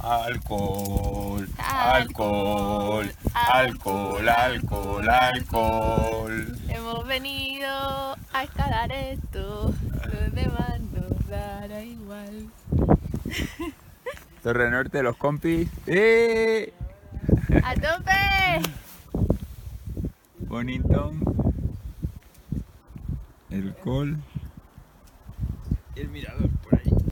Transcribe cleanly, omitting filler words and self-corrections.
Alcohol, alcohol, alcohol, alcohol, alcohol. Hemos venido a escalar esto, los demás nos dará igual. Torre Norte, los compis. ¡A tope! Bonington. El col. Y el mirador.